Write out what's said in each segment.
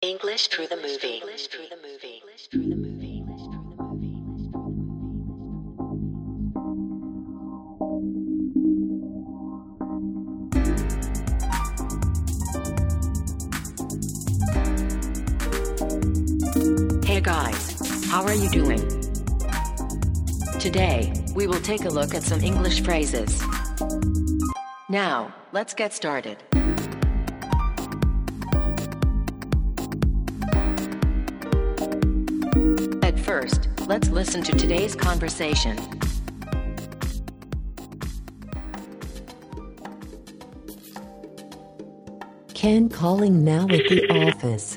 English through the movie. Hey guys, how are you doing? Today, we will take a look at some English phrases. Now, let's get started. At first, let's listen to today's conversation. Ken calling now at the office.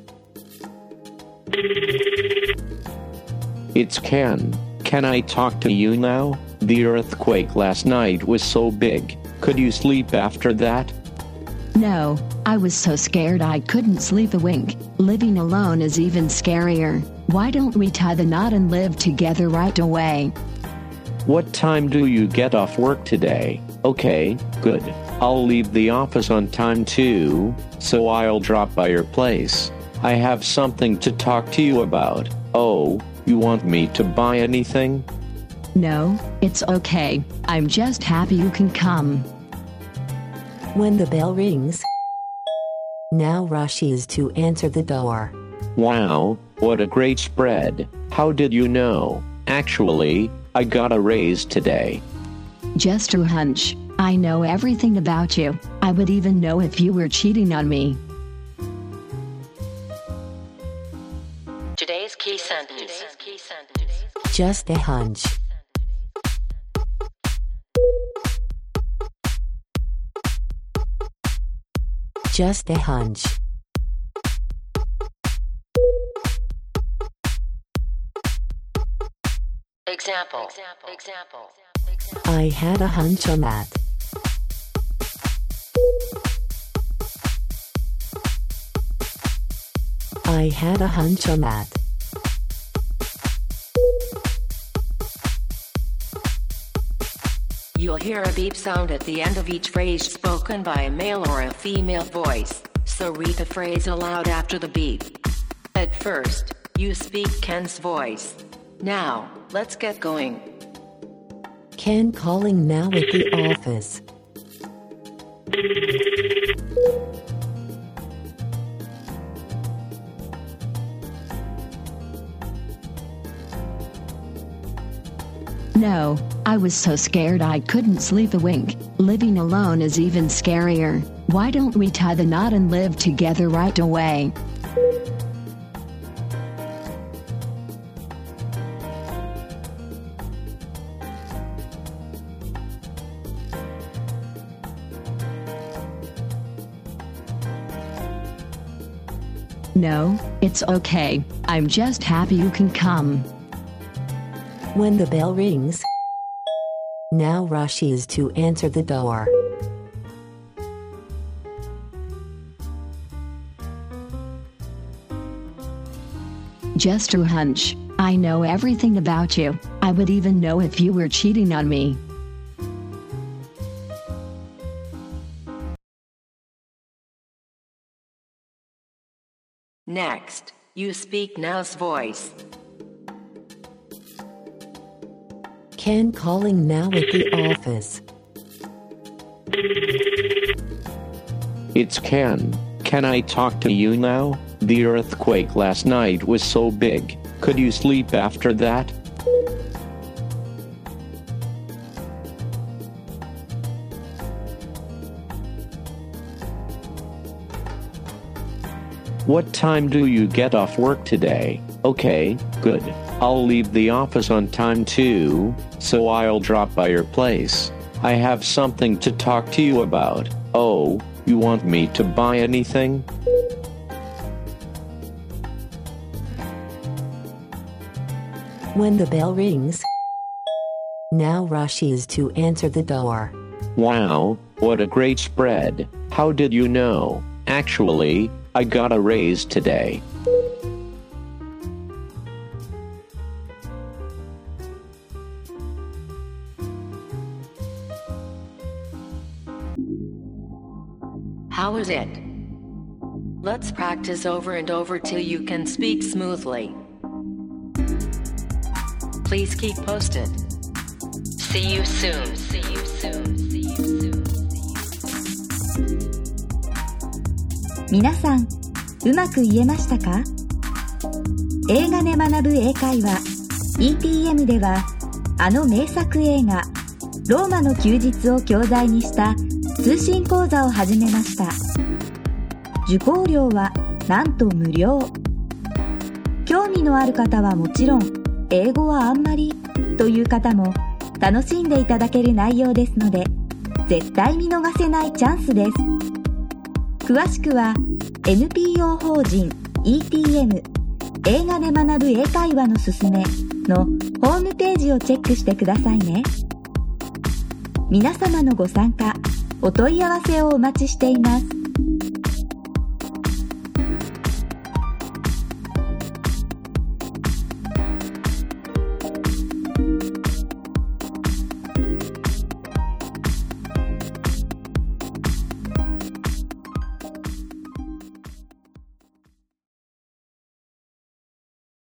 It's Ken. Can I talk to you now? The earthquake last night was so big. Could you sleep after that? No, I was so scared I couldn't sleep a wink. Living alone is even scarier. Why don't we tie the knot and live together right away? What time do you get off work today? Okay, good. I'll leave the office on time too, so I'll drop by your place. I have something to talk to you about. Oh, you want me to buy anything? No, it's okay. I'm just happy you can come. When the bell rings, now rushes to answer the door. Wow, what a great spread. How did you know? Actually, I got a raise today. Just a hunch. I know everything about you. I would even know if you were cheating on me. Today's key sentence. Just a hunch. Just a hunch. Example. I had a hunch on that. I had a hunch on that. You'll hear a beep sound at the end of each phrase spoken by a male or a female voice, so read the phrase aloud after the beep. At first, you speak Ken's voice. Now, let's get going. Ken calling now at the office. No, I was so scared I couldn't sleep a wink. Living alone is even scarier. Why don't we tie the knot and live together right away? No, it's okay. I'm just happy you can come. When the bell rings, now rushes to answer the door. Just a hunch. I know everything about you. I would even know if you were cheating on me. Next, you speak now's voice. Ken calling now at the office. It's Ken. Can I talk to you now? The earthquake last night was so big. Could you sleep after that? What time do you get off work today? Okay, good. I'll leave the office on time too, so I'll drop by your place. I have something to talk to you about. Oh, you want me to buy anything? When the bell rings, now rushes to answer the door. Wow, what a great spread. How did you know? Actually, I got a raise today. How is it? Let's practice over and over till you can speak smoothly. Please keep posted. See you soon. See you soon. See you soon. 皆さん、うまく言えましたか？映画で学ぶ英会話 ETM では、あの名作映画ローマの休日を教材にした通信講座を始めました。受講料はなんと無料。興味のある方はもちろん、英語はあんまりという方も楽しんでいただける内容ですので、絶対見逃せないチャンスです。詳しくは NPO 法人 ETM 映画で学ぶ英会話のすすめのホームページをチェックしてくださいね。皆様のご参加、お問い合わせをお待ちしています。